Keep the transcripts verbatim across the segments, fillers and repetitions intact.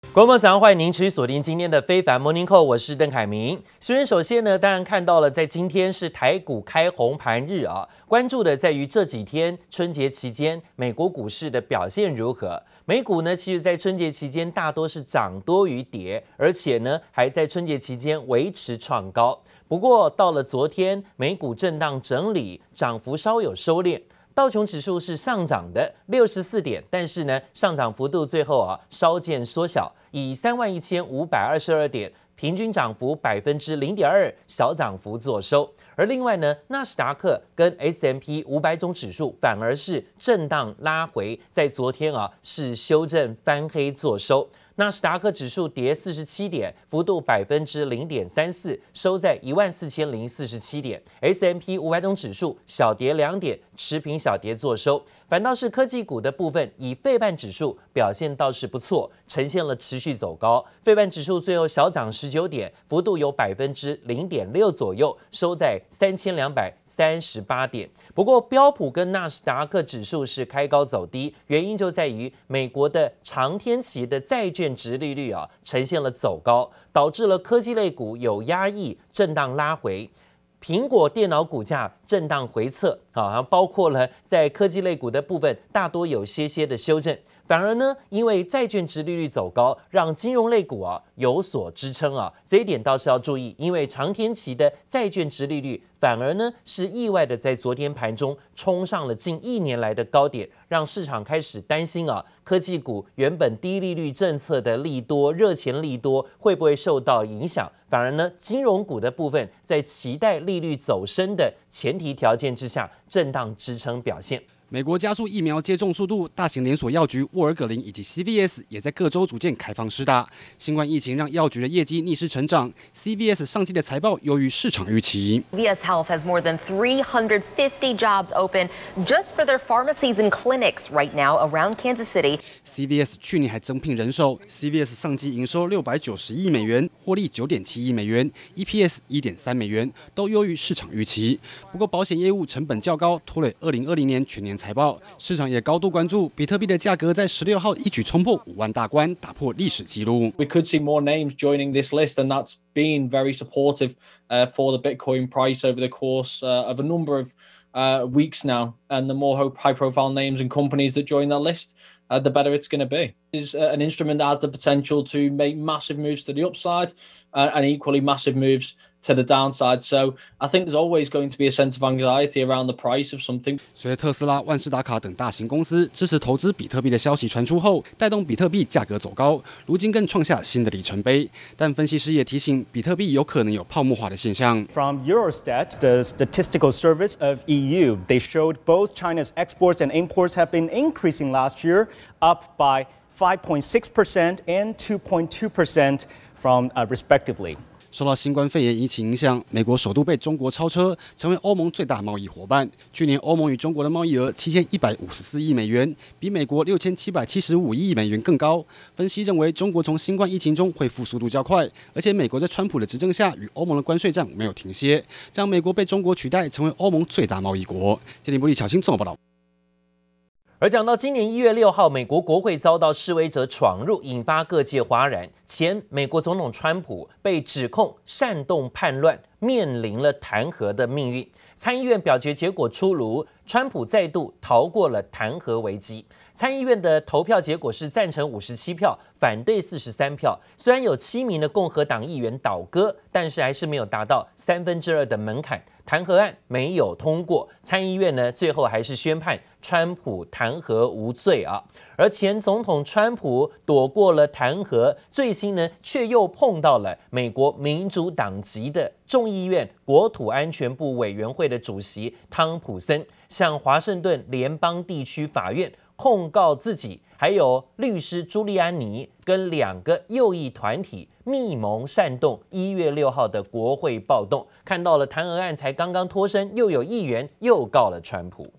各位朋友，早上歡迎您持續鎖定今天的非凡 Morning Call， 我是鄧凱明。首先，首先呢，當然看到了，在今天是台股開紅盤日啊，關注的在於這幾天春節期間美國股市的表現如何。美股呢，其實在春節期間大多是漲多於跌，而且呢，還在春節期間維持創高。不過到了昨天，美股震盪整理，漲幅稍有收斂。道瓊指數是上漲的六十四點，但是呢，上漲幅度最後啊稍見縮小，以三萬一千五百二十二點，平均漲幅百分之零點二，小漲幅作收。而另外呢，納斯達克跟 S and P 五百種指數反而是震盪拉回，在昨天啊是修正翻黑作收。納斯達克指數跌四十七點，幅度百分之零點三四，收在一萬四千零四十七點。S and P 五百種指數小跌兩點，持平小跌作收。反倒是科技股的部分，以費半指數表現倒是不錯，呈現了持續走高。費半指數最後小漲十九點，幅度有百分之零點六左右，收在三千兩百三十八點。不過標普跟納斯達克指數是開高走低，原因就在於美國的長天期的債券殖利率啊呈現了走高，導致了科技類股有壓抑，震盪拉回。蘋果電腦股價震盪回測，啊，包括了在科技類股的部分，大多有些些的修正。反而呢，因為債券殖利率走高，讓金融類股啊有所支撐啊，這一點倒是要注意，因為長天期的債券殖利率反而呢是意外的在昨天盤中衝上了近一年來的高點，讓市場開始擔心啊，科技股原本低利率政策的利多、熱錢利多會不會受到影響？反而呢，金融股的部分在期待利率走升的前提條件之下，震盪支撐表現。 美國加速疫苗接種速度，大型連鎖藥局沃爾葛林以及 C V S 也在各州逐漸開放施打。新冠疫情讓藥局的業績逆勢成長 ，C V S 上季的財報優於市場預期。 V S Health has more than three hundred fifty jobs open just for their pharmacies and clinics right now around Kansas City. C V S 去年還增聘人手 ，C V S 上季營收六百九十億美元，獲利九點七億美元 ，E P S 一點三美元，都優於市場預期。不過保險業務成本較高，拖累二零二零年全年財報，市場也高度關注比特幣的價格在十六號一舉衝破五萬大關，打破歷史紀錄。 We could see more names joining this list, and that's been very supportive uh, for the Bitcoin price over the course uh, of a number of uh, weeks now. And the more high-profile names and companies that join that list, uh, the better it's going to be. It's uh, an instrument that has the potential to make massive moves to the upside uh, and equally massive moves to the downside. So I think there's always going to be a sense of anxiety around the price of something. 隨着特斯拉、萬事達卡等大型公司支持投資比特幣的消息傳出後，帶動比特幣價格走高，如今更創下新的里程碑。但分析師也提醒，比特幣有可能有泡沫化的現象。 From Eurostat, the statistical service of E U, they showed both China's exports and imports have been increasing last year, up by five point six percent and two point two percent from uh, respectively. 受到新冠肺炎疫情影響，美國首度被中國超車，成為歐盟最大貿易夥伴。去年歐盟與中國的貿易額七千一百五十四億美元，比美國六千七百七十五億美元更高。分析認為，中國從新冠疫情中恢復速度較快，而且美國在川普的執政下與歐盟的關稅戰沒有停歇，讓美國被中國取代，成為歐盟最大貿易國。傑林伯利巧芯綜合報道。 而講到今年一月六號，美國國會遭到示威者闖入，引發各界譁然。前美國總統川普被指控煽動叛亂，面臨了彈劾的命運。參議院表決結果出爐，川普再度逃過了彈劾危機。參議院的投票結果是贊成五十七票，反對四十三票。雖然有七名的共和黨議員倒戈，但是還是沒有達到三分之二的門檻。彈劾案沒有通過，參議院呢最後還是宣判川普彈劾無罪啊。而前總統川普躲過了彈劾，最新呢卻又碰到了美國民主黨籍的眾議院國土安全部委員會的主席湯普森，向華盛頓聯邦地區法院控告自己，還有律師朱利安尼跟兩個右翼團體密謀煽動一月六號的國會暴動。看到了彈劾案才剛剛脫身，又有議員又告了川普。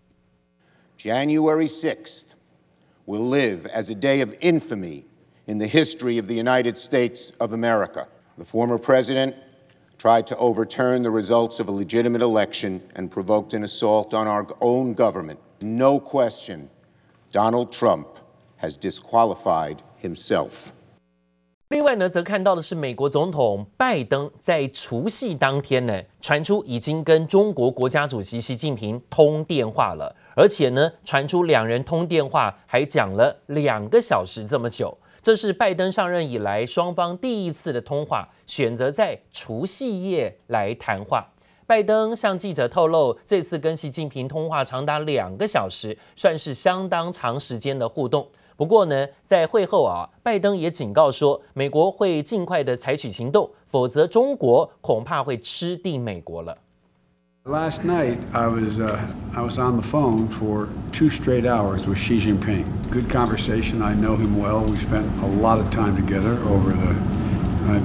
January sixth will live as a day of infamy in the history of the United States of America. The former president tried to overturn the results of a legitimate election and provoked an assault on our own government. No question, Donald Trump has disqualified himself. 另外呢，則看到的是美國總統拜登在除夕當天呢，傳出已經跟中國國家主席習近平通電話了，而且呢，傳出兩人通電話還講了兩個小時這麼久。這是拜登上任以來雙方第一次的通話，選擇在除夕夜來談話。拜登向記者透露，這次跟習近平通話長達兩個小時，算是相當長時間的互動。不過呢，在會後啊，拜登也警告說，美國會盡快的採取行動，否則中國恐怕會吃定美國了。 Last night, I was uh, I was on the phone for two straight hours with Xi Jinping. Good conversation. I know him well. We spent a lot of time together over the uh,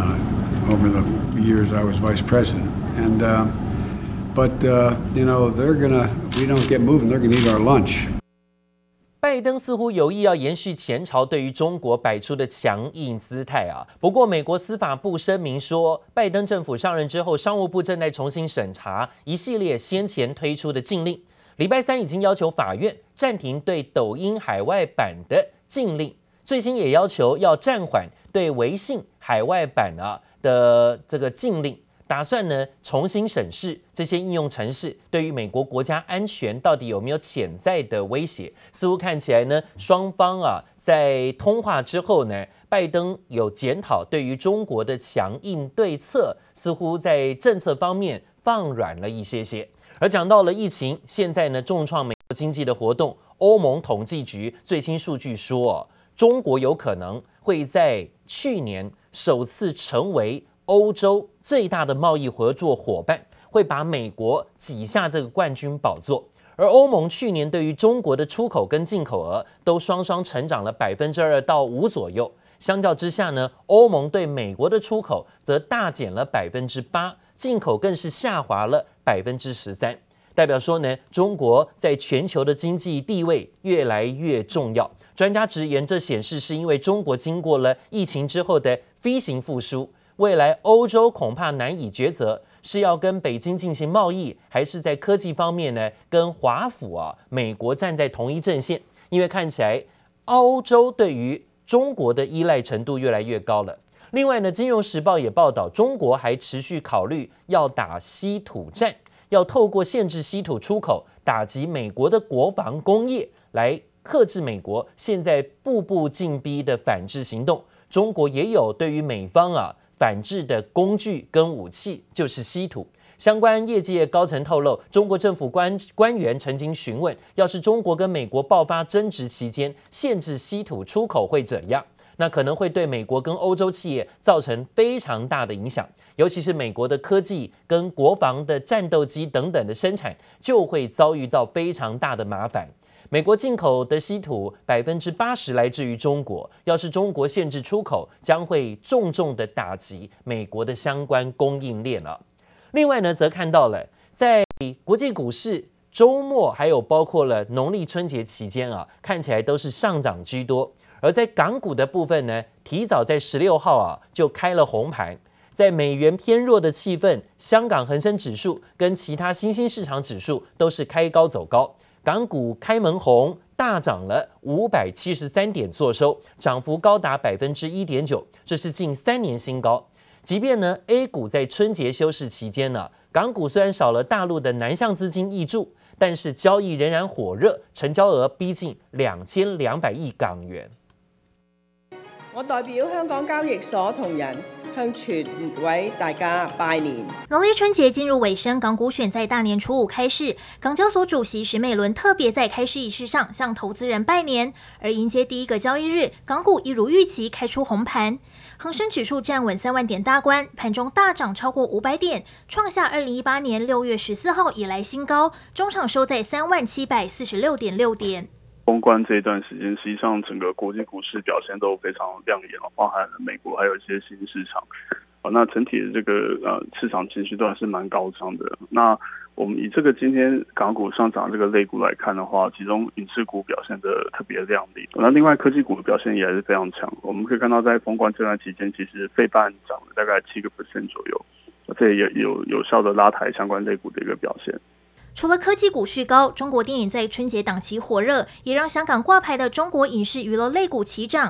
uh, over the years I was vice president. And uh, but uh, you know, they're gonna. We don't get moving. They're gonna eat our lunch. 拜登似乎有意要延續前朝對於中國擺出的強硬姿態啊。不過，美國司法部聲明說，拜登政府上任之後，商務部正在重新審查一系列先前推出的禁令。禮拜三已經要求法院暫停對抖音海外版的禁令，最新也要求要暫緩對微信海外版啊的這個禁令。打算呢重新審視這些應用程式對於美國國家安全到底有沒有潛在的威脅？似乎看起來呢，雙方啊在通話之後呢，拜登有檢討對於中國的強硬對策，似乎在政策方面放軟了一些些。而講到了疫情，現在呢重創美國經濟的活動，歐盟統計局最新數據說，中國有可能會在去年首次成為歐洲最大的貿易合作夥伴，會把美國擠下這個冠軍寶座。而歐盟去年對於中國的出口跟進口額都雙雙成長了百分之二到五左右。相較之下呢，歐盟對美國的出口則大減了百分之八，進口更是下滑了百分之十三。代表說呢，中國在全球的經濟地位越來越重要。專家直言，這顯示是因為中國經過了疫情之後的 V 型復甦。未來歐洲恐怕難以抉擇，是要跟北京進行貿易，還是在科技方面呢跟華府啊美國站在同一陣線？因為看起來歐洲對於中國的依賴程度越來越高了。另外呢，《金融時報》也報道，中國還持續考慮要打稀土戰，要透過限制稀土出口，打擊美國的國防工業，來克制美國現在步步進逼的反制行動。中國也有對於美方啊反制的工具跟武器，就是稀土。相關業界高層透露，中國政府官官員曾經詢問，要是中國跟美國爆發爭執期間限制稀土出口會怎樣？那可能會對美國跟歐洲企業造成非常大的影響，尤其是美國的科技跟國防的戰鬥機等等的生產，就會遭遇到非常大的麻煩。美國進口的稀土百分之八十來自於中國，要是中國限制出口，將會重重的打擊美國的相關供應鏈了。另外呢，則看到了在國際股市週末，還有包括了農曆春節期間啊，看起來都是上漲居多。而在港股的部分呢，提早在十六號啊就開了紅盤。在美元偏弱的氣氛，香港恆生指數跟其他新興市場指數都是開高走高。港股開門紅，大漲了五百七十三點，作收，漲幅高達百分之一點九，這是近三年新高。即便呢 A 股在春節休市期間呢，港股雖然少了大陸的南向資金挹注，但是交易仍然火熱，成交額逼近兩千兩百億港元。 我代表香港交易所同仁，向全位大家拜年。 農曆春節進入尾聲，港股選在大年初五開市。港交所主席許美倫特別在開市儀式上向投資人拜年，而迎接第一個交易日，港股一如預期開出紅盤，恆生指數站穩三萬點大關，盤中大漲超過五百點，創下二零一八年六月十四號以來新高，終場收在三萬七百四十六點六點。 封關這一段時間，實際上整個國際股市表現都非常亮眼，包含了美國還有一些新市場。那整體的這個呃市場情緒都還是蠻高漲的。那我們以這個今天港股上漲這個類股來看的話，其中影視股表現得特別亮麗。那另外科技股的表現也還是非常強。我們可以看到，在封關這段期間，其實費半漲了大概七個 percent 左右，這也有有效的拉抬相關類股的一個表現。 除了科技股續高，中國電影在春節檔期火熱，也讓香港掛牌的中國影視娛樂類股齊漲。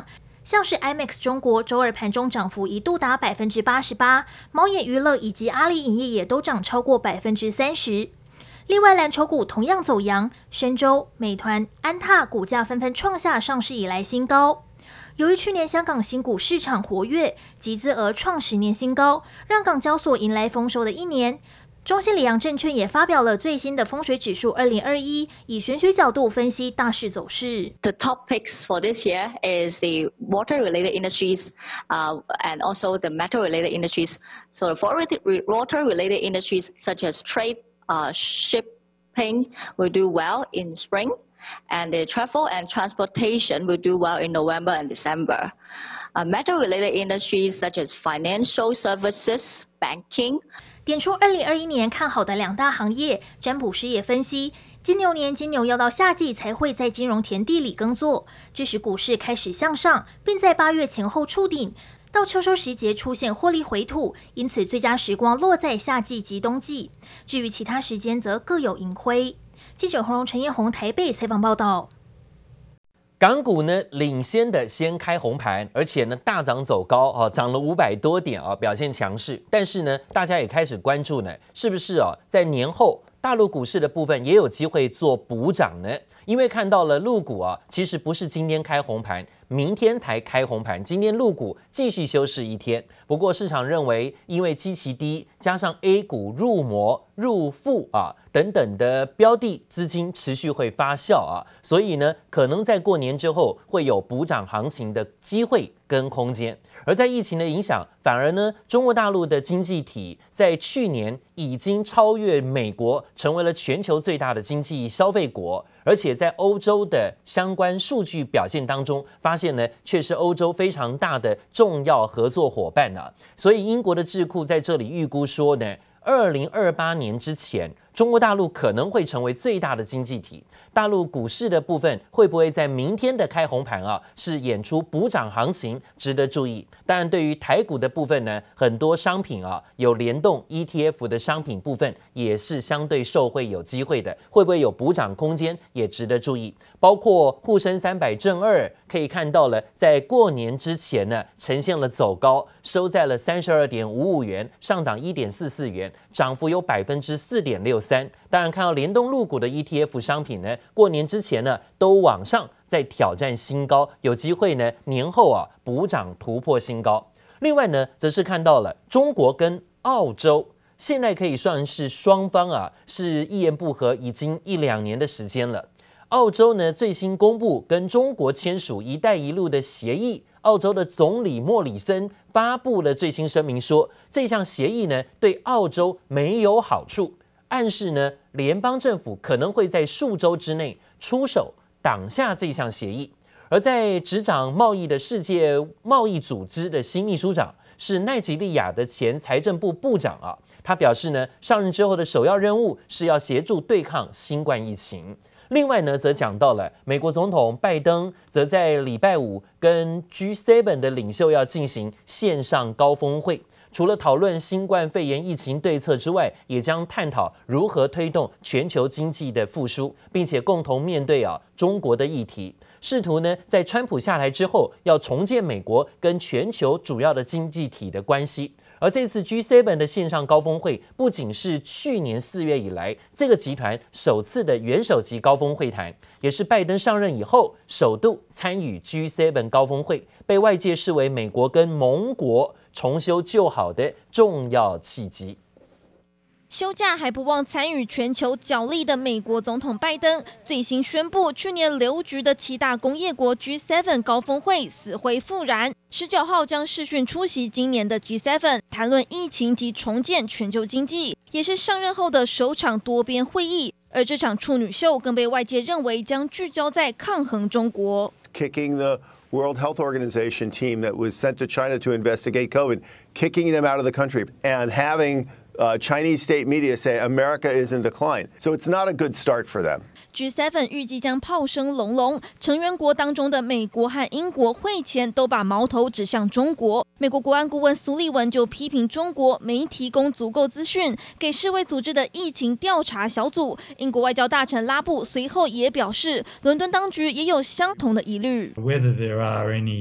像是 I M A X 中國周二盤中漲幅一度達百分之八十八，貓眼娛樂以及阿里影業也都漲超過百分之三十。另外，藍籌股同樣走揚，申洲、美團、安踏股價紛紛創下上市以來新高。由於去年香港新股市場活躍，集資額創十年新高，讓港交所迎來豐收的一年。中信里昂證券也發表了最新的風水指數二零二一，以玄學角度分析大勢走勢。 The top picks for this year is the water-related industries, uh, and also the metal-related industries. So for water-related industries such as trade, uh, shipping will do well in spring, and the travel and transportation will do well in November and December. Uh, metal-related industries such as financial services, banking. 點出二零二一年看好的兩大行業，占卜師也分析，金牛年金牛要到夏季才會在金融田地裡耕作，這時股市開始向上，並在八月前後觸頂，到秋收時節出現獲利回吐，因此最佳時光落在夏季及冬季。至於其他時間則各有盈虧。記者洪榮、陳彥宏台北採訪報道。 港股呢領先的先開紅盤，而且呢大漲走高啊，漲了五百多點啊，表現強勢。但是呢，大家也開始關注呢，是不是啊在年後大陸股市的部分也有機會做補漲呢？因為看到了陸股啊，其實不是今天開紅盤，明天才開紅盤，今天陸股繼續休市一天。不過市場認為，因為基期低，加上 A 股入摩、入富啊等等的標的資金持續會發酵啊，所以呢，可能在過年之後會有補漲行情的機會跟空間。而在疫情的影響，反而呢，中國大陸的經濟體在去年已經超越美國，成為了全球最大的經濟消費國。而且在歐洲的相關數據表現當中，發現呢，卻是歐洲非常大的重要合作夥伴啊。所以英國的智庫在這裡預估說呢，二零二八年之前，中國大陸可能會成為最大的經濟體。大陸股市的部分會不會在明天的開紅盤啊，是演出補漲行情，值得注意。當然，對於台股的部分呢，很多商品啊有聯動 E T F 的商品部分也是相對受惠有機會的，會不會有補漲空間也值得注意。包括滬深三百正二可以看到了，在過年之前呢呈現了走高，收在了三十二點五五元，上漲一點四四元，漲幅有百分之四點六三。當然，看到聯動陸股的 E T F 商品呢，過年之前呢都往上在挑戰新高，有機會呢年後啊補漲突破新高。另外呢，則是看到了中國跟澳洲現在可以算是雙方啊是一言不合，已經一兩年的時間了。澳洲呢最新公布跟中國簽署“一帶一路”的協議，澳洲的總理莫里森發布了最新聲明說，這項協議呢對澳洲沒有好處，暗示呢聯邦政府可能會在數週之內出手擋下這項協議。而在執掌貿易的世界貿易組織的新秘書長是奈及利亞的前財政部部長啊，他表示呢，上任之後的首要任務是要協助對抗新冠疫情。另外呢，則講到了美國總統拜登，則在禮拜五跟 G 七 的領袖要進行線上高峰會，除了討論新冠肺炎疫情對策之外，也將探討如何推動全球經濟的復甦，並且共同面對啊中國的議題，試圖呢在川普下台之後，要重建美國跟全球主要的經濟體的關係。而這次 G 七 的線上高峰會，不僅是去年四月以來這個集團首次的元首級高峰會談，也是拜登上任以後首度參與 G 七 高峰會，被外界視為美國跟盟國重修舊好的重要契機。 休假還不忘參與全球角力的美國總統拜登，最新宣布去年留局的七大工業國 G 七 高峰會死灰復燃，十九號將視訊出席今年的 G 七， 談論疫情及重建全球經濟，也是上任後的首場多邊會議。而這場處女秀更被外界認為將聚焦在抗衡中國。 Kicking the World Health Organization team that was sent to China to investigate COVID, kicking them out of the country and having Uh, Chinese state media say America is in decline. So it's not a good start for them. G 七 預計將炮聲隆隆，成員國當中的美國和英國會前都把矛頭指向中國。美國國安顧問蘇利文就批評中國沒提供足夠資訊給世衛組織的疫情調查小組。英國外交大臣拉布隨後也表示，倫敦當局也有相同的疑慮。 Whether there are any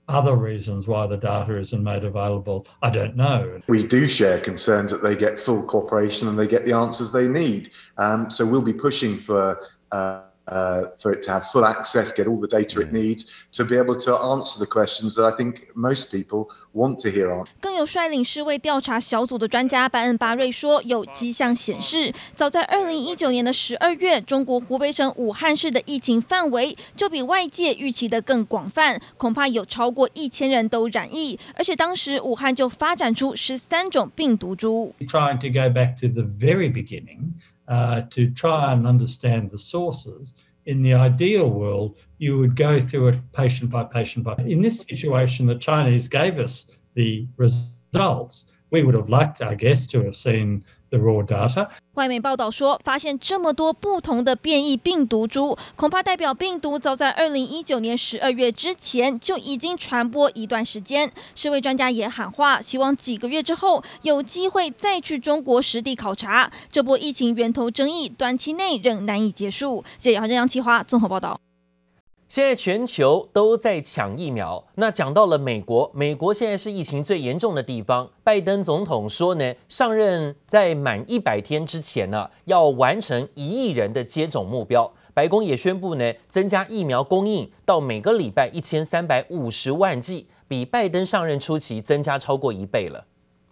other reasons why the data isn't made available, I don't know. We do share concerns that they get full cooperation and they get the answers they need. Um, so we'll be pushing for uh, uh, for it to have full access, get all the data it needs to be able to answer the questions that I think most people want to hear on. 更有率領世衛調查小組的專家班恩巴瑞說，有跡象顯示，早在二零一九年的十二月，中國湖北省武漢市的疫情範圍就比外界預期的更廣泛，恐怕有超過一千人都染疫，而且當時武漢就發展出十三種病毒株。 Trying to go back to the very beginning, uh, to try and understand the sources. In the ideal world, you would go through it patient by patient by. In this situation, the Chinese gave us the results. We would have liked, I guess, to have seen the raw data. 外媒報道說，發現這麼多不同的變異病毒株，恐怕代表病毒早在二零一九年十二月之前就已經傳播一段時間。世衛專家也喊話，希望幾個月之後有機會再去中國實地考察。這波疫情源頭爭議短期內仍難以結束。記者楊啟華綜合報道。 現在全球都在搶疫苗，那講到了美國，美國現在是疫情最嚴重的地方。拜登總統說呢，上任在滿一百天之前呢，要完成一億人的接種目標。白宮也宣布呢，增加疫苗供應到每個禮拜一千三百五十萬劑，比拜登上任初期增加超過一倍了。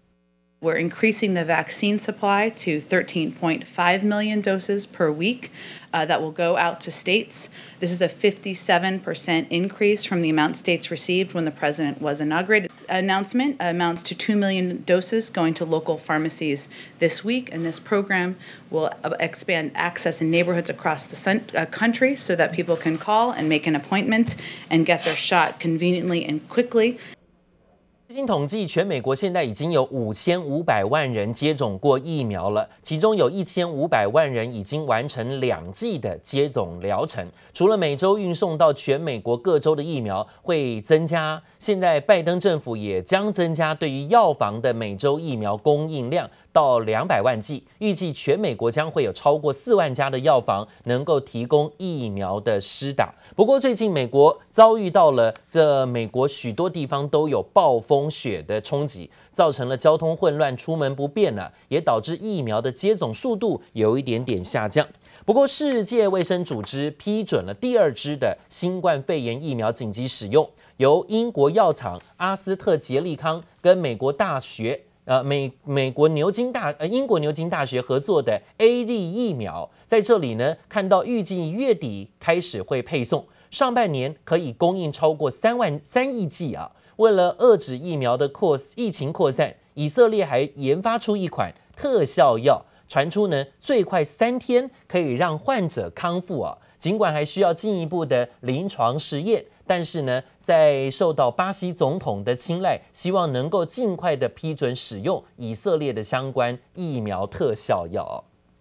We're increasing the vaccine supply to thirteen point five million doses per week uh, that will go out to states. This is a fifty-seven percent increase from the amount states received when the president was inaugurated. Announcement amounts to two million doses going to local pharmacies this week, and this program will expand access in neighborhoods across the uh, country so that people can call and make an appointment and get their shot conveniently and quickly. 最新統計，全美國現在已經有五千五百萬人接種過疫苗了，其中有一千五百萬人已經完成兩劑的接種療程。除了每周運送到全美國各州的疫苗會增加，現在拜登政府也將增加對於藥房的每周疫苗供應量到兩百萬劑，預計全美國將會有超過四萬家的藥房能夠提供疫苗的施打。不過最近美國遭遇到了這美國許多地方都有暴風雪的衝擊，造成了交通混亂，出門不便了，也導致疫苗的接種速度有一點點下降。不過世界衛生組織批准了第二支的新冠肺炎疫苗緊急使用，由英國藥廠阿斯特捷利康跟美國大學呃美美國牛津大呃英國牛津大學合作的 A Z 疫苗，在這裡呢看到預計月底開始會配送，上半年可以供應超過三萬三億劑啊。為了遏止疫苗的擴疫情擴散，以色列還研發出一款特效藥，傳出呢最快三天可以讓患者康復啊。儘管還需要進一步的臨床實驗，但是呢，在受到巴西總統的青睞，希望能夠盡快的批准使用以色列的相關疫苗特效藥。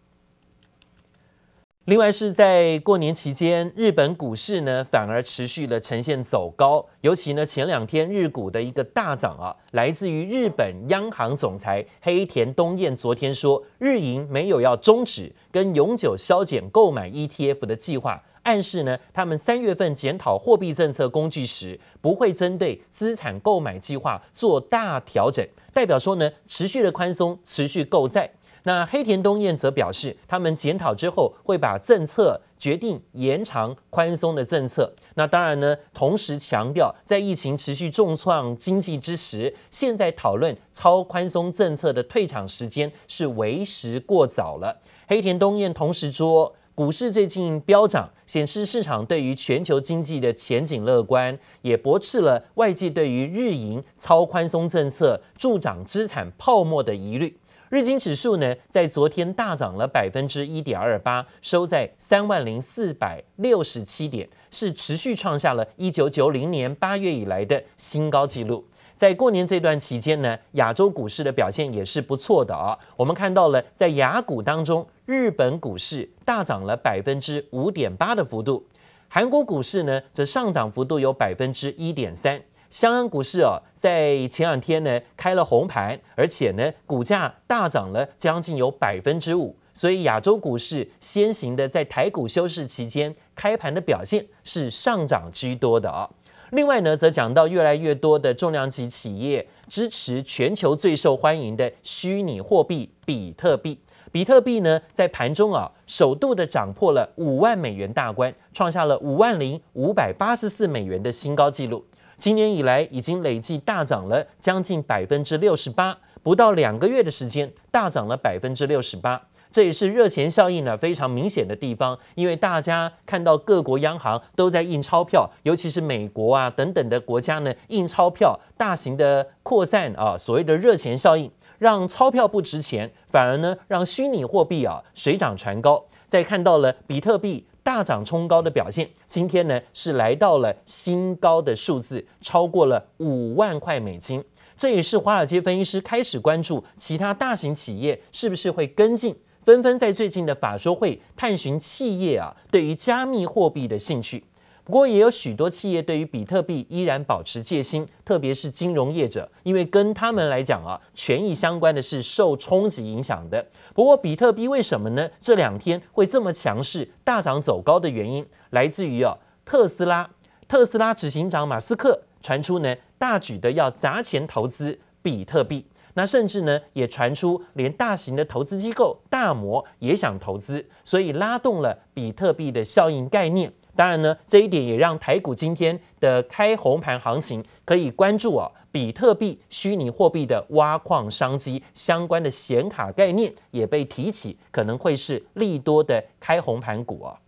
另外是在過年期間，日本股市呢反而持續了呈現走高，尤其呢前兩天日股的一個大漲啊，來自於日本央行總裁黑田東彥昨天說，日銀沒有要終止跟永久削減購買 E T F 的計劃，暗示呢他們三月份檢討貨幣政策工具時，不會針對資產購買計劃做大調整，代表說呢持續的寬鬆，持續購債。那黑田東彥則表示，他們檢討之後會把政策決定延長寬鬆的政策。那當然呢，同時強調，在疫情持續重創經濟之時，現在討論超寬鬆政策的退場時間是為時過早了。黑田東彥同時說，股市最近飆漲，顯示市場對於全球經濟的前景樂觀，也駁斥了外界對於日銀超寬鬆政策助長資產泡沫的疑慮。日經指數呢，在昨天大漲了百分之一點二八，收在三萬零四百六十七點，是持續創下了一九九零年八月以來的新高紀錄。在過年這段期間呢，亞洲股市的表現也是不錯的啊。我們看到了，在亞股當中，日本股市大漲了百分之五點八的幅度，韓國股市呢，則上漲幅度有百分之一點三。香港股市哦，在前兩天呢開了紅盤，而且呢股價大漲了將近有百分之五，所以亞洲股市先行的在台股休市期間開盤的表現是上漲居多的啊。 另外呢，則講到越來越多的重量級企業支持全球最受歡迎的虛擬貨幣比特幣。比特幣呢，在盤中啊，首度的漲破了五萬美元大關，創下了五萬零五百八十四美元的新高紀錄。今年以來，已經累計大漲了將近百分之六十八，不到兩個月的時間，大漲了百分之六十八。這也是熱錢效應呢非常明顯的地方，因為大家看到各國央行都在印鈔票，尤其是美國啊等等的國家呢印鈔票，大型的擴散啊，所謂的熱錢效應。讓鈔票不值錢，反而呢讓虛擬貨幣啊水漲船高。再看到了比特幣大漲衝高的表現，今天呢是來到了新高的數字，超過了五萬塊美金。這也是華爾街分析師開始關注其他大型企業是不是會跟進，紛紛在最近的法說會探尋企業啊對於加密貨幣的興趣。不過也有許多企業對於比特幣依然保持戒心，特別是金融業者，因為跟他們來講啊，權益相關的是受衝擊影響的。不過比特幣為什麼呢？這兩天會這麼強勢大漲走高的原因，來自於啊特斯拉，特斯拉執行長馬斯克傳出呢大舉的要砸錢投資比特幣，那甚至呢也傳出連大型的投資機構大摩也想投資，所以拉動了比特幣的效應概念。當然呢，這一點也讓台股今天的開紅盤行情可以關注啊，比特幣、虛擬貨幣的挖礦商機相關的顯卡概念也被提起，可能會是利多的開紅盤股啊。